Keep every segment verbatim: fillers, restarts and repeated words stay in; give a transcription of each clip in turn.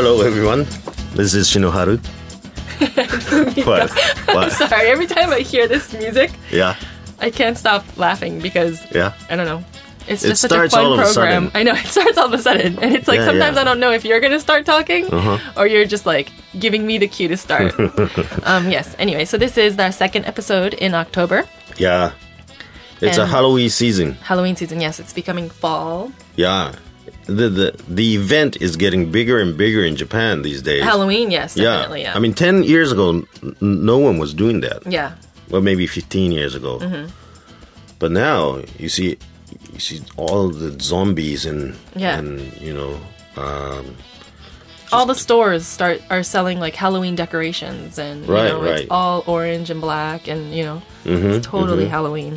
Hello, everyone. This is Shinoharu. What? I'm What? sorry. Every time I hear this music, Yeah. I can't stop laughing because Yeah. I don't know. It's It just such a starts fun all of a program. sudden. I know it starts all of a sudden, and it's like Yeah, sometimes yeah. I don't know if you're gonna start talking Uh-huh. or you're just like giving me the cue to start. um, yes. Anyway, so this is our second episode in October, Yeah. It's a And- Halloween season. Halloween season. Yes, it's becoming fall. Yeah. The, the the event is getting bigger and bigger in Japan these days. Halloween, yes, Yeah. definitely. Yeah. I mean, ten years ago, n- no one was doing that. yeah. Well, maybe fifteen years ago. Mm-hmm. But now you see, you see all the zombies and Yeah. and you know, um, All the stores start are selling like Halloween decorations, and you Right, know right. it's all orange and black, and you know Mm-hmm, it's totally Halloween.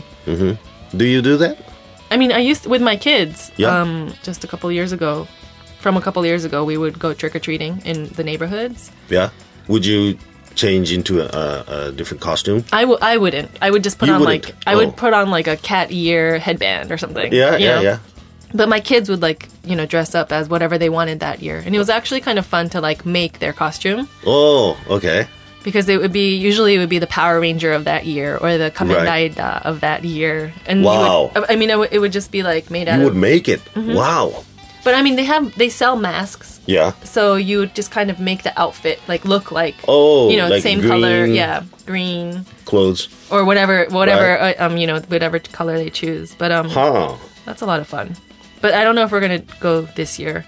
do you do that? I mean, I used with my kids. Yeah. Um, just a couple years ago, from a couple years ago, we would go trick or treating in the neighborhoods. Yeah. Would you change into a, a different costume? I w- I wouldn't. I would just put You on wouldn't? like I Oh. would put on like a cat ear headband or something. Yeah, you yeah, know? yeah. But my kids would like you know dress up as whatever they wanted that year, and it was actually kind of fun to like make their costume. Oh, okay. Because it would be usually it would be the Power Ranger of that year or the Kamen Right. Rider of that year, and Wow. you would, I mean it would, it would just be like made out You of. would make it. Mm-hmm. Wow. But I mean they have they sell masks, Yeah. so you would just kind of make the outfit like look like Oh, you know like same green color, yeah, green clothes. or whatever whatever Right. uh, um you know whatever color they choose. But um Huh. that's a lot of fun. But I don't know if we're gonna go this year,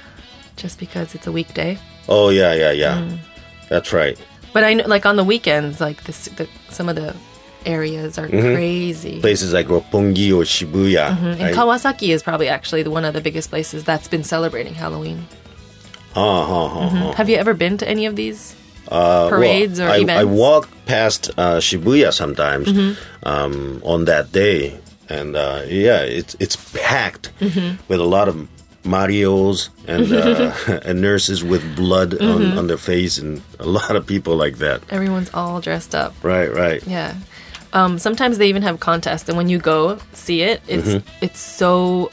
just because it's a weekday. Oh, yeah, yeah, yeah. Mm. That's right. But I know, like on the weekends, like this, the, some of the areas are Mm-hmm. crazy. Places like Roppongi or Shibuya. And right? Kawasaki is probably actually the, one of the biggest places that's been celebrating Halloween. Uh, huh, huh, huh. Have you ever been to any of these Uh, parades well, or I, events? I walk past uh, Shibuya sometimes Mm-hmm. um, on that day, and uh, yeah, it's it's packed Mm-hmm. with a lot of Marios and uh, and nurses with blood Mm-hmm. on, on their face, and a lot of people like that. Everyone's all dressed up. Right, right. Yeah. Um, sometimes they even have contests, and when you go see it, it's Mm-hmm. it's so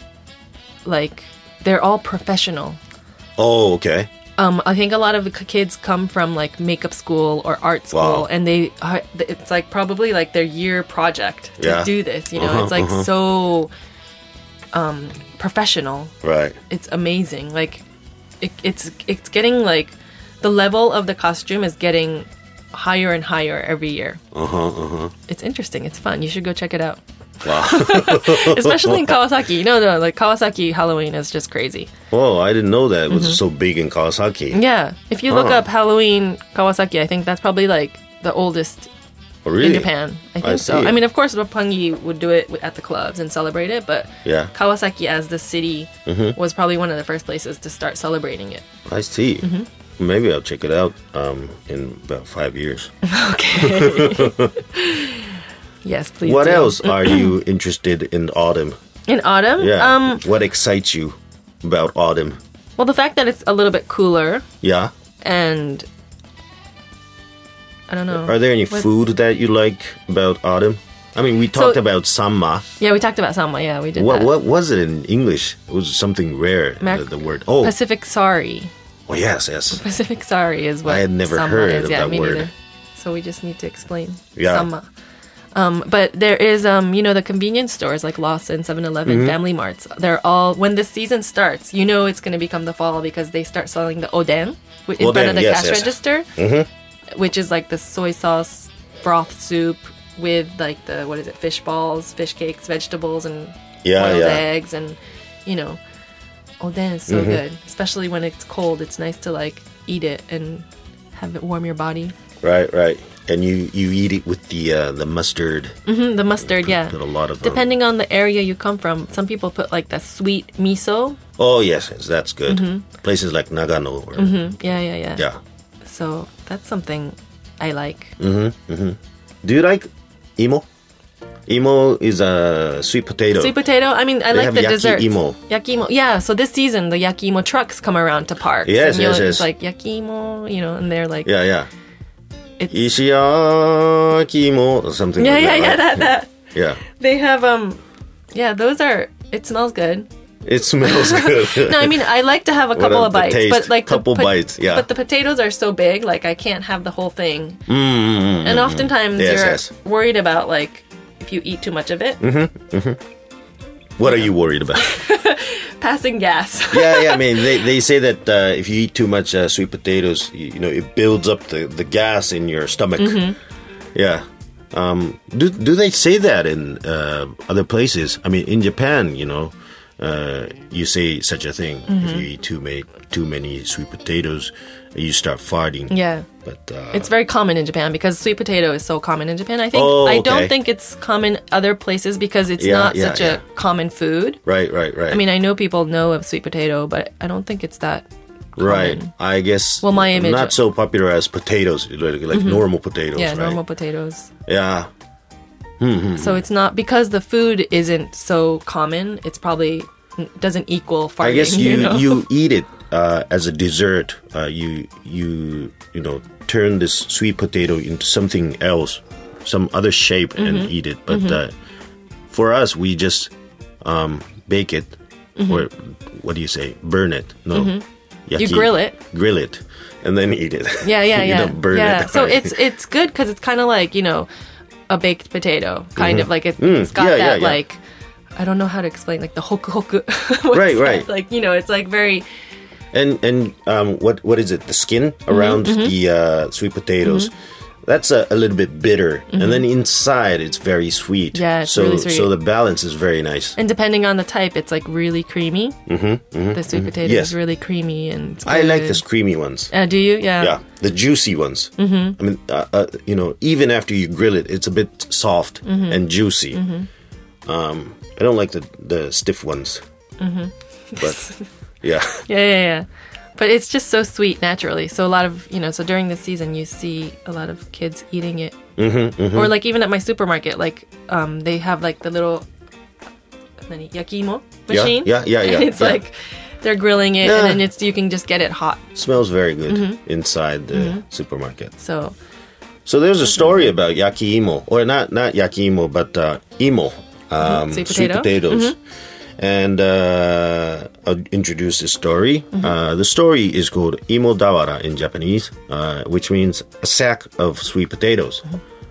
like they're all professional. Oh, okay. Um, I think a lot of the k- kids come from like makeup school or art school, Wow. and they are, it's like probably like their year project to Yeah. do this. You know, Uh-huh, it's like uh-huh. so um, professional. Right. It's amazing. Like it, it's it's getting like the level of the costume is getting higher and higher every year. Uh huh. Uh huh. It's interesting. It's fun. You should go check it out. Wow. Especially in Kawasaki. You know, the, like Kawasaki Halloween is just crazy. Oh, I didn't know that it Mm-hmm. was so big in Kawasaki. Yeah. If you look Huh. up Halloween Kawasaki, I think that's probably like the oldest Oh, really? in Japan. I think I so. see. I mean, of course, Roppongi would do it at the clubs and celebrate it, but Yeah. Kawasaki as the city Mm-hmm. was probably one of the first places to start celebrating it. I see. Mm-hmm. Maybe I'll check it out um, in about five years. Okay. Yes, please. What do. else are you interested in autumn? In autumn? Yeah. Um, what excites you about autumn? well, the fact that it's a little bit cooler Yeah. and I don't know. Are there any What- food that you like about autumn? I mean, we talked about samma. Yeah, we talked about Sama. Yeah, we did What that. what was it in English? It was something rare. Mac- the, the word. Oh, Pacific Sari. oh yes, yes. Pacific Sari is what I had never Sama heard is. of yeah, that me word. neither. So we just need to explain Yeah. Sama. Um, but there is, um, you know, the convenience stores like Lawson, seven eleven, Mm-hmm. Family Marts. They're all, when the season starts, you know it's going to become the fall because they start selling the oden wi- in front Oden, of the yes, cash yes. register, Mm-hmm. which is like the soy sauce broth soup with like the, what is it, fish balls, fish cakes, vegetables, and Yeah, boiled yeah. eggs. And, you know, oden is so Mm-hmm. good, especially when it's cold. It's nice to like eat it and have it warm your body. Right, right. And you, you eat it with the uh, the mustard. Hmm the mustard, yeah. Put a lot of um, Depending on the area you come from, some people put like the sweet miso. Oh yes, yes, that's good. Mm-hmm. Places like Nagano. Or, Yeah, yeah, yeah. Yeah. So that's something I like. Do you like imo? Imo is a sweet potato. Sweet potato. I mean, I They like have the yaki desserts. imo. Yakimo. Yeah. So this season, the yakimo trucks come around to parks. Yes, and you'll- yes, yes. It's like yakimo, you know, and they're like, Yeah, yeah. It's- Ishiyaki or something yeah, like yeah, that. yeah, right? that, that. Yeah. They have um, yeah, those are. It smells good. It smells good. No, I mean I like to have a What couple a- of the bites, taste. but like Couple the, bites, yeah. But the potatoes are so big, like I can't have the whole thing. Mm, And oftentimes Yes, you're yes. worried about like if you eat too much of it, what are you worried about? passing gas. yeah, yeah. I mean, they, they say that uh, if you eat too much uh, sweet potatoes, you, you know, it builds up the, the gas in your stomach. Mm-hmm. Yeah. Um, do do they say that in uh, other places? I mean, in Japan, you know, uh, you say such a thing. Mm-hmm. If you eat too many too many sweet potatoes, you start farting. Yeah. But uh, It's very common in Japan because sweet potato is so common in Japan. I think Oh, I okay. don't think it's common other places because it's Yeah, not yeah, such yeah. a common food. right, right, right. I mean, I know people know of sweet potato, but I don't think it's that right. common. I guess. Well, my image- not so popular as potatoes, like, like normal potatoes. Yeah, right? normal potatoes. Yeah. So it's not because the food isn't so common. It's probably doesn't equal farting. I guess you you, know? you eat it uh, as a dessert. Uh, you you you know turn this sweet potato into something else, some other shape, and Mm-hmm. eat it. But uh, for us, we just um, bake it, Mm-hmm. or what do you say? Burn it? No, You grill it. grill it, and then eat it. Yeah, yeah, you yeah. don't burn yeah. it. So right? it's it's good because it's kind of like you know a baked potato, kind of like it, Mm, it's got yeah, yeah, that yeah. like I don't know how to explain like the hoku hoku. Right, right. Like you know, it's like very And and um, what what is it? The skin around Mm-hmm, the uh, sweet potatoes. That's a, a little bit bitter, and then inside it's very sweet. Mm-hmm. Yeah, it's so really sweet. so the balance is very nice. and depending on the type, it's like really creamy. Mm-hmm, the sweet potato Yes. is really creamy and it's I like good. the creamy ones. Uh, do you? Yeah. Yeah, the juicy ones. Mm-hmm. I mean, uh, uh, you know, even after you grill it, it's a bit soft Mm-hmm. and juicy. Um, I don't like the the stiff ones. Mm-hmm. But yeah, Yeah, yeah, yeah. But it's just so sweet naturally. So a lot of, you know, so during the season, you see a lot of kids eating it. Mm-hmm, Or like even at my supermarket, like um, they have like the little nani, yakimo Yeah, machine. yeah, yeah, yeah, And it's yeah. like they're grilling it Yeah. and then it's you can just get it hot. smells very good Mm-hmm. inside the supermarket. So So there's a story about yakiimo, or not not yakiimo, but uh, imo, um, Sweet sweet potato? potatoes. And uh, I'll introduce the story. Uh, the story is called imo dawara in Japanese, uh, which means a sack of sweet potatoes.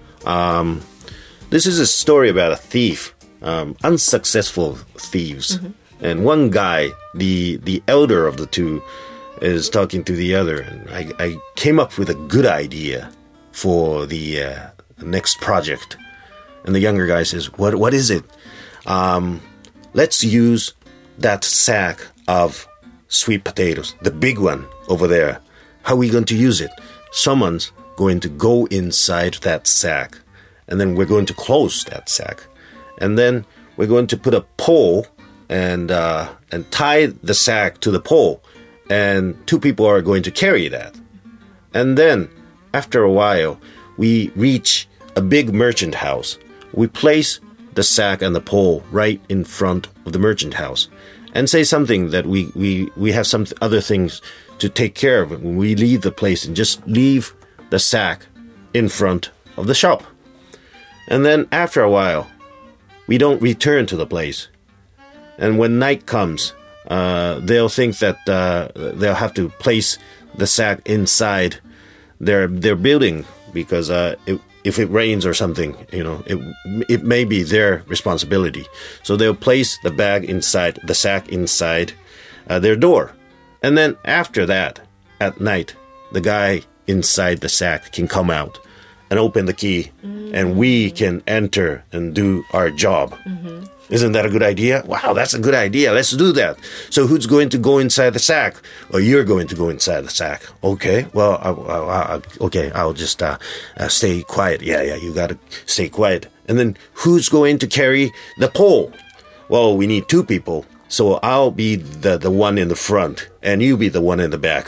Um, this is a story about a thief, um, unsuccessful thieves, and one guy, the the elder of the two, is talking to the other, and I, I came up with a good idea for the uh, next project. And the younger guy says, "What? What is it? Um, let's use that sack of sweet potatoes, the big one over there. How are we going to use it? Someone's going to go inside that sack, and then we're going to close that sack, and then we're going to put a pole and uh, and tie the sack to the pole, and two people are going to carry that, and then." After a while, we reach a big merchant house. We place the sack and the pole right in front of the merchant house and say something that we, we, we have some other things to take care of when we leave the place, and just leave the sack in front of the shop. And then after a while, we don't return to the place. And when night comes, uh, they'll think that uh, they'll have to place the sack inside their their building, because uh, it, if it rains or something, you know, it it may be their responsibility. So they'll place the bag inside, the sack inside uh, their door, and then after that, at night, the guy inside the sack can come out and open the key, mm-hmm. and we can enter and do our job. Mm-hmm. Isn't that a good idea? Wow, that's a good idea. Let's do that. So who's going to go inside the sack? Or you're going to go inside the sack. Okay, well, I, I, I, okay, I'll just uh, uh, stay quiet. Yeah, yeah, you got to stay quiet. And then who's going to carry the pole? Well, we need two people. So I'll be the, the one in the front, and you be the one in the back.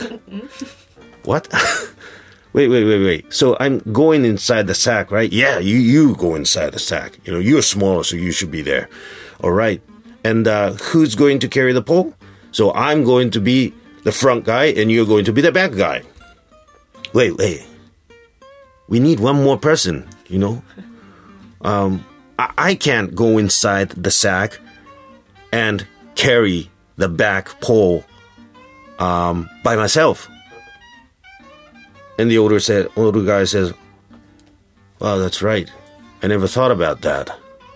What? Wait, wait, wait, wait. So I'm going inside the sack, right? Yeah, you, you go inside the sack. You know, you're smaller, so you should be there. All right. And uh, who's going to carry the pole? So I'm going to be the front guy, and you're going to be the back guy. Wait, wait. We need one more person, you know? Um, I, I can't go inside the sack and carry the back pole um, by myself. And the older said, older guy says, "Wow, that's right. I never thought about that.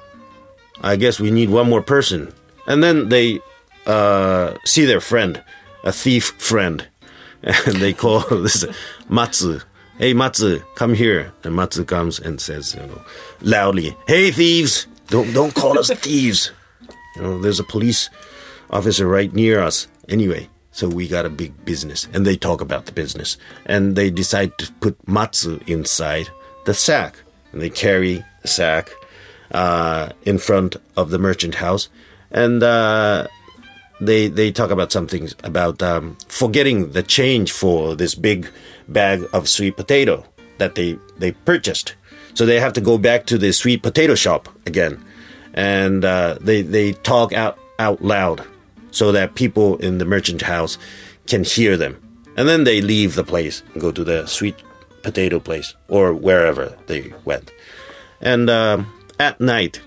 I guess we need one more person." And then they uh, see their friend, a thief friend, and they call this Matsu. "Hey, Matsu, come here." And Matsu comes and says, you know, loudly, "Hey, thieves, don't don't call us thieves. You know, there's a police officer right near us. Anyway, so we got a big business." And they talk about the business. And they decide to put Matsu inside the sack. And they carry the sack uh, in front of the merchant house. And uh, they they talk about something about um, forgetting the change for this big bag of sweet potato that they, they purchased. So they have to go back to the sweet potato shop again. And uh, they, they talk out, out loud so that people in the merchant house can hear them. And then they leave the place and go to the sweet potato place or wherever they went. And uh, at night,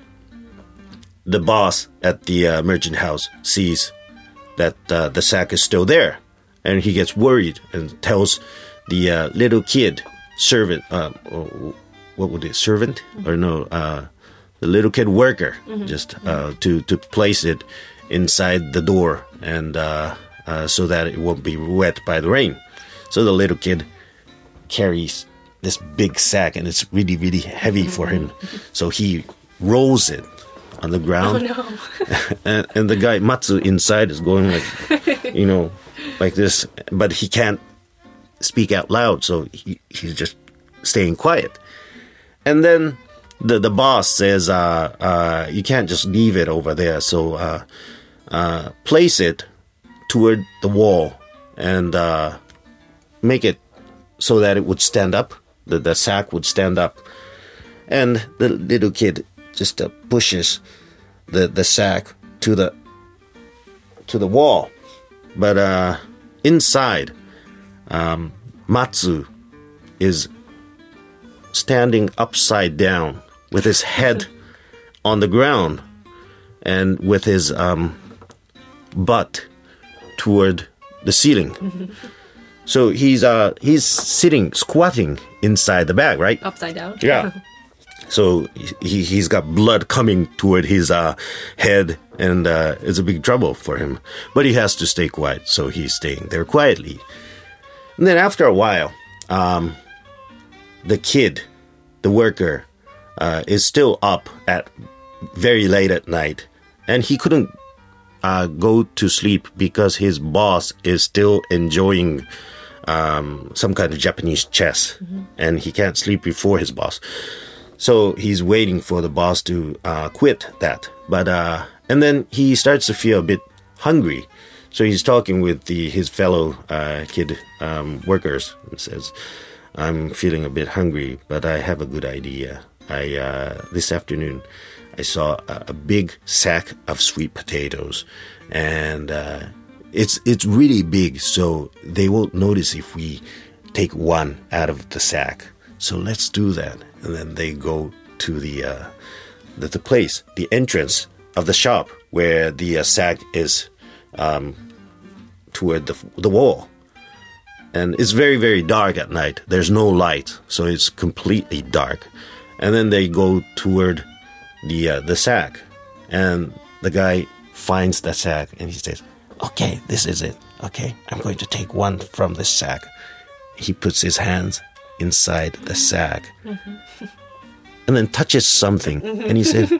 the boss at the uh, merchant house sees that uh, the sack is still there. And he gets worried and tells the uh, little kid, servant, uh, or what would it, servant? Or no, uh, the little kid worker, mm-hmm. just uh, to, to place it inside the door and uh, uh, so that it won't be wet by the rain. So the little kid carries this big sack and it's really, really heavy for him. So he rolls it on the ground. Oh, no. and, and the guy, Matsu, inside is going like, you know, like this. But he can't speak out loud, so he, he's just staying quiet. And then the, the boss says, uh, uh, you can't just leave it over there. So uh, uh, place it toward the wall and uh, make it so that it would stand up. The, the sack would stand up. And the little kid just uh, pushes the, the sack to the to the wall. But uh, inside, um, Matsu is standing upside down with his head on the ground and with his um, butt toward the ceiling. So he's uh, he's sitting, squatting inside the bag, right? Upside down. Yeah. So he, he's got blood coming toward his uh, head, and uh, it's a big trouble for him. But he has to stay quiet, so he's staying there quietly. And then after a while, um, the kid, the worker, uh, is still up at very late at night, and he couldn't uh, go to sleep because his boss is still enjoying um, some kind of Japanese chess, mm-hmm. and he can't sleep before his boss. So he's waiting for the boss to uh, quit that. But uh, and then he starts to feel a bit hungry. So he's talking with the his fellow uh, kid um, workers and says, "I'm feeling a bit hungry, but I have a good idea. I uh, this afternoon I saw a, a big sack of sweet potatoes, and uh, it's it's really big, so they won't notice if we take one out of the sack. So let's do that." And then they go to the uh, the, the place, the entrance of the shop where the uh, sack is um, toward the the wall. And it's very, very dark at night. There's no light, so it's completely dark. And then they go toward the uh, the sack, and the guy finds the sack, and he says, "Okay, this is it. Okay, I'm going to take one from this sack." He puts his hands inside the sack, mm-hmm. and then touches something, and he said,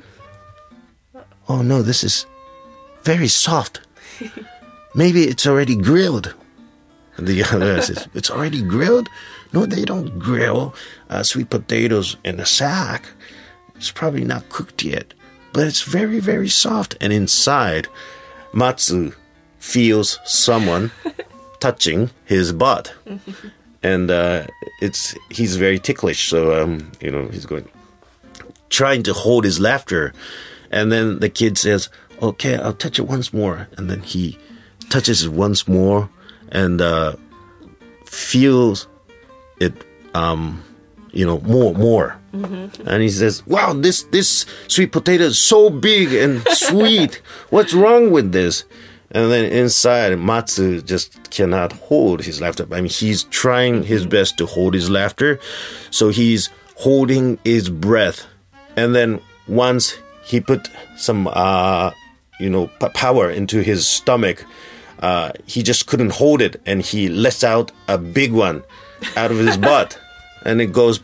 "Oh no, this is very soft. Maybe it's already grilled." And the other says, "It's already grilled? No, they don't grill uh, sweet potatoes in a sack. It's probably not cooked yet, but it's very, very soft." And inside, Matsu feels someone touching his butt. And uh, it's he's very ticklish, so um, you know he's going, trying to hold his laughter, and then the kid says, "Okay, I'll touch it once more," and then he touches it once more and uh, feels it um, you know, more, more. Mm-hmm. And he says, wow, this, this sweet potato is so big and sweet. What's wrong with this? And then inside, Matsu just cannot hold his laughter. I mean, he's trying his best to hold his laughter. So he's holding his breath. And then once he put some, uh, you know, p- power into his stomach, uh, he just couldn't hold it. And he lets out a big one out of his butt. And it goes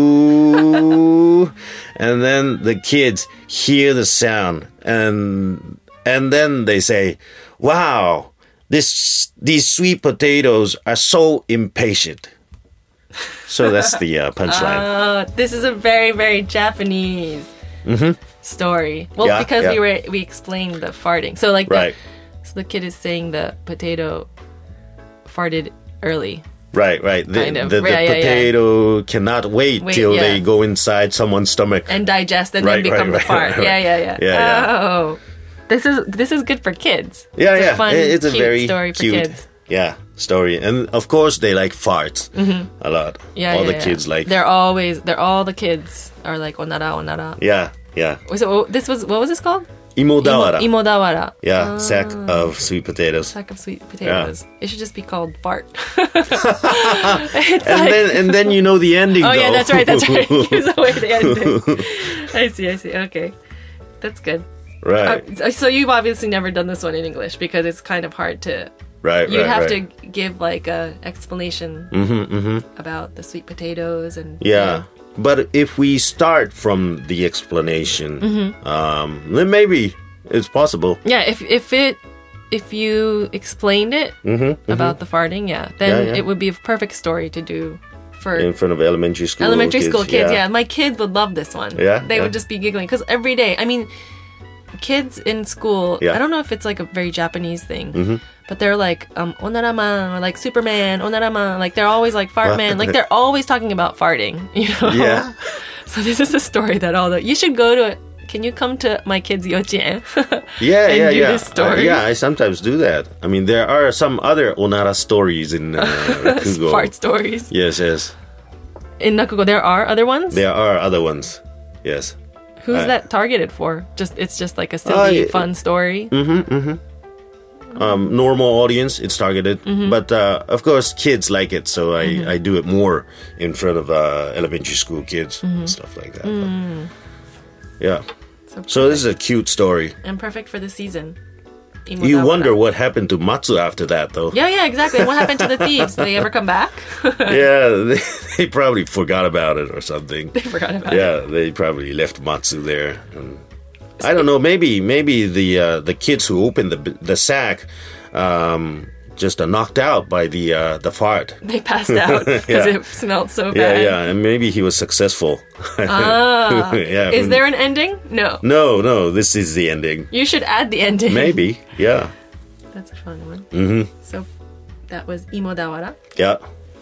poo. And then the kids hear the sound. And and then they say, wow, this these sweet potatoes are so impatient. So that's the uh, punchline. Oh, this is a very, very Japanese mm-hmm. story. Well, yeah, because yeah. we were we explained the farting. So like, right. the, so the kid is saying the potato farted early. Right, right. The, kind of. the, the yeah, potato yeah. cannot wait, wait till yeah. they go inside someone's stomach and digest and right, then become right, the fart. Right, right, yeah, yeah, yeah, yeah. yeah, oh. yeah. This is this is good for kids. Yeah, it's yeah. A fun, it's a cute very story for cute, kids. yeah, story. And of course, they like farts mm-hmm. a lot. Yeah, all yeah, the yeah. kids like. They're always. They're all the kids are like onara onara. Yeah, yeah. So this was what was this called? Imodawara. Imo, imodawara. Yeah, ah. sack of sweet potatoes. Sack of sweet potatoes. Yeah. It should just be called fart. and like, then and then you know the ending. Oh though. yeah, that's right. That's right. It gives away the ending. I see. I see. Okay, that's good. Right. Uh, so you've obviously never done this one in English because it's kind of hard to. Right. You'd right, have right. to give like a explanation mm-hmm, mm-hmm. about the sweet potatoes and. Yeah. You know. But if we start from the explanation, mm-hmm. um, then maybe it's possible. Yeah, if if it if you explained it mm-hmm, mm-hmm. about the farting, yeah, then yeah, yeah. it would be a perfect story to do for in front of elementary school elementary kids, school kids. Yeah. yeah, my kids would love this one. Yeah, they yeah. would just be giggling because every day. I mean, kids in school. Yeah. I don't know if it's like a very Japanese thing. Mm-hmm. But they're like, um, onaraman, or like Superman, onaraman. Like, they're always like, fart man. Like, they're always talking about farting, you know? Yeah. So this is a story that all the... You should go to... Can you come to my kids' yochien? Yeah, and yeah, do yeah. This story? Uh, yeah, I sometimes do that. I mean, there are some other onara stories in uh, Rakugo. Fart stories. Yes, yes. In Rakugo, there are other ones? There are other ones, yes. Who's uh, that targeted for? Just It's just like a silly, uh, fun story? Mm-hmm, mm-hmm. Um, normal audience, it's targeted, mm-hmm. but uh, of course kids like it, so I, mm-hmm. I do it more in front of uh, elementary school kids mm-hmm. and stuff like that. Mm. Yeah, so, so this is a cute story and perfect for the season. You wonder what happened to Matsu after that, though. Yeah, yeah, exactly. What happened to the thieves? Did they ever come back? Yeah, they, they probably forgot about it or something. They forgot about yeah, it. Yeah, they probably left Matsu there. And I don't know. Maybe maybe the uh, the kids who opened the the sack um, just uh, knocked out by the uh, the fart. They passed out because yeah. it smelled so Yeah, bad. yeah, and maybe he was successful. Ah, yeah. Is there an ending? No. No, no. This is the ending. You should add the ending. Maybe. Yeah. That's a fun one. Mm-hmm. So that was Imodawara. Yeah.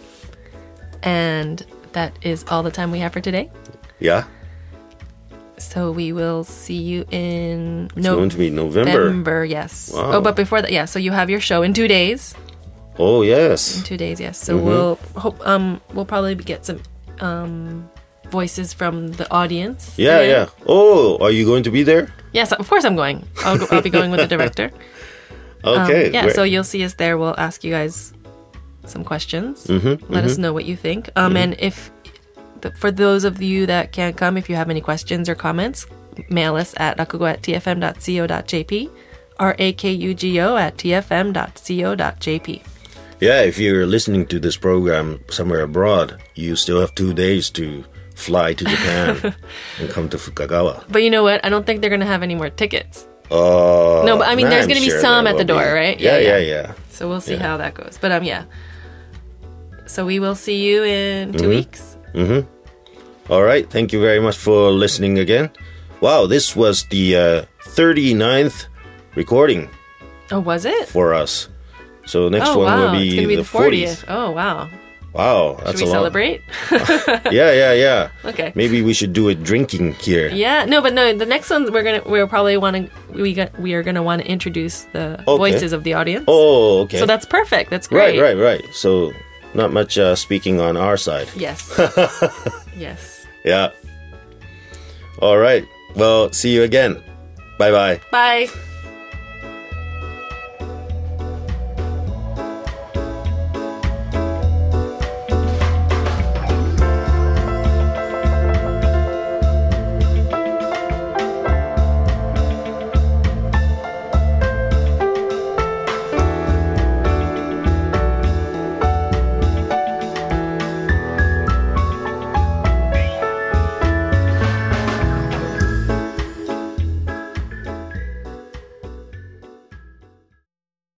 And that is all the time we have for today. Yeah. So we will see you in It's no- going to be November. November, yes. Wow. Oh, but before that, yeah. So you have your show in two days. Oh yes. In two days, yes. So mm-hmm. we'll hope um we'll probably get some um voices from the audience. Yeah, there. yeah. Oh, are you going to be there? Yes, of course I'm going. I'll go, I'll be going with the director. Okay. Um, yeah. Where- So you'll see us there. We'll ask you guys some questions. Mm-hmm, Let mm-hmm. us know what you think. Um, Mm-hmm. and if for those of you that can't come, if you have any questions or comments, mail us at rakugo at t f m dot co dot j p, r a k u g o at t f m dot co dot j p. Yeah, if you're listening to this program somewhere abroad, you still have two days to fly to Japan and come to Fukagawa. But you know what? I don't think they're going to have any more tickets. Uh, No, but I mean, nah, there's I'm going to be sure some there at the will door, be. right? Yeah, yeah, yeah. So we'll see Yeah. how that goes. But um, yeah. So we will see you in two Mhm. weeks. Mm-hmm. All right. Thank you very much for listening again. Wow, this was the uh, thirty-ninth recording Oh, was it? for us. So next oh, one wow. will be, it's going to be the the fortieth. Oh, wow. Wow, that's Should we a lot. celebrate? Yeah, yeah, yeah. Okay. Maybe we should do it drinking here. Yeah, no, but no. The next one we're gonna we'll probably want to we got we are gonna want to introduce the Okay. voices of the audience. Oh, okay. So that's perfect. That's great. right, right, right. So not much uh, speaking on our side. Yes. Yes. Yeah. All right. Well, see you again. Bye-bye. Bye.